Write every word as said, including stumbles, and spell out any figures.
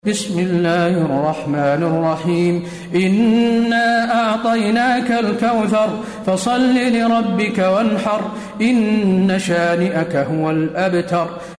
بسم الله الرحمن الرحيم إنا أعطيناك الكوثر فصل لربك وانحر إن شانئك هو الأبتر.